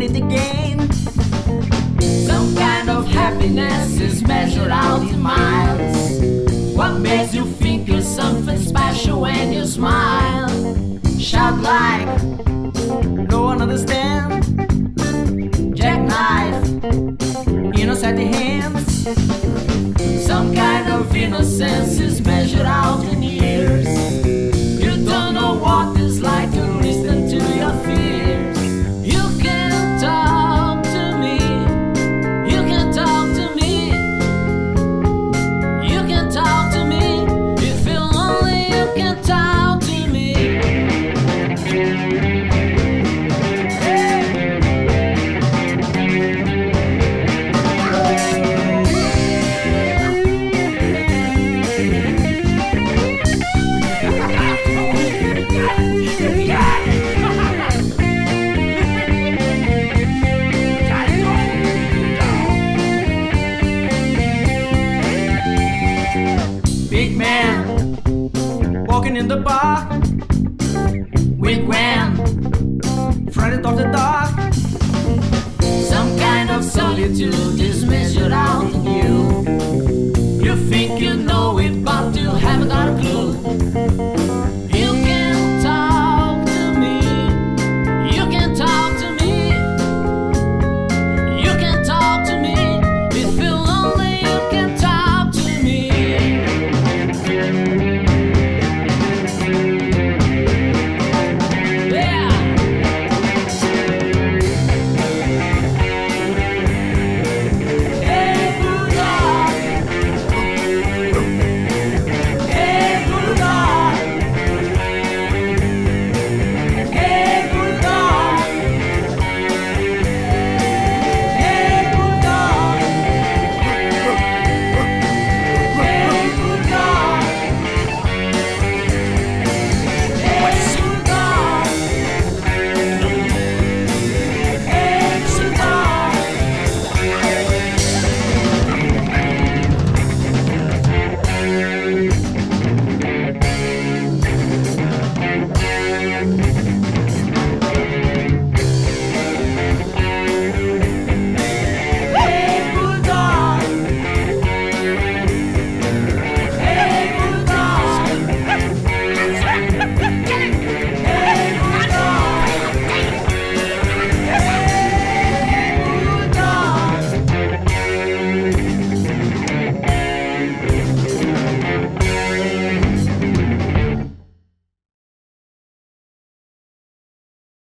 it again. Some kind of happiness is measured out in miles. What makes you think you're something special when you smile? Shout like no one understands. Jackknife, innocent hands. Some kind of innocence is measured out in years. You don't know what it's like to listen to your fears. You can talk to me. You can talk to me. You can talk to me. If you're lonely, you can talk to me. Big man walking in the park with Gwen, frightened of the dark. Some kind of solitude is measured out in you.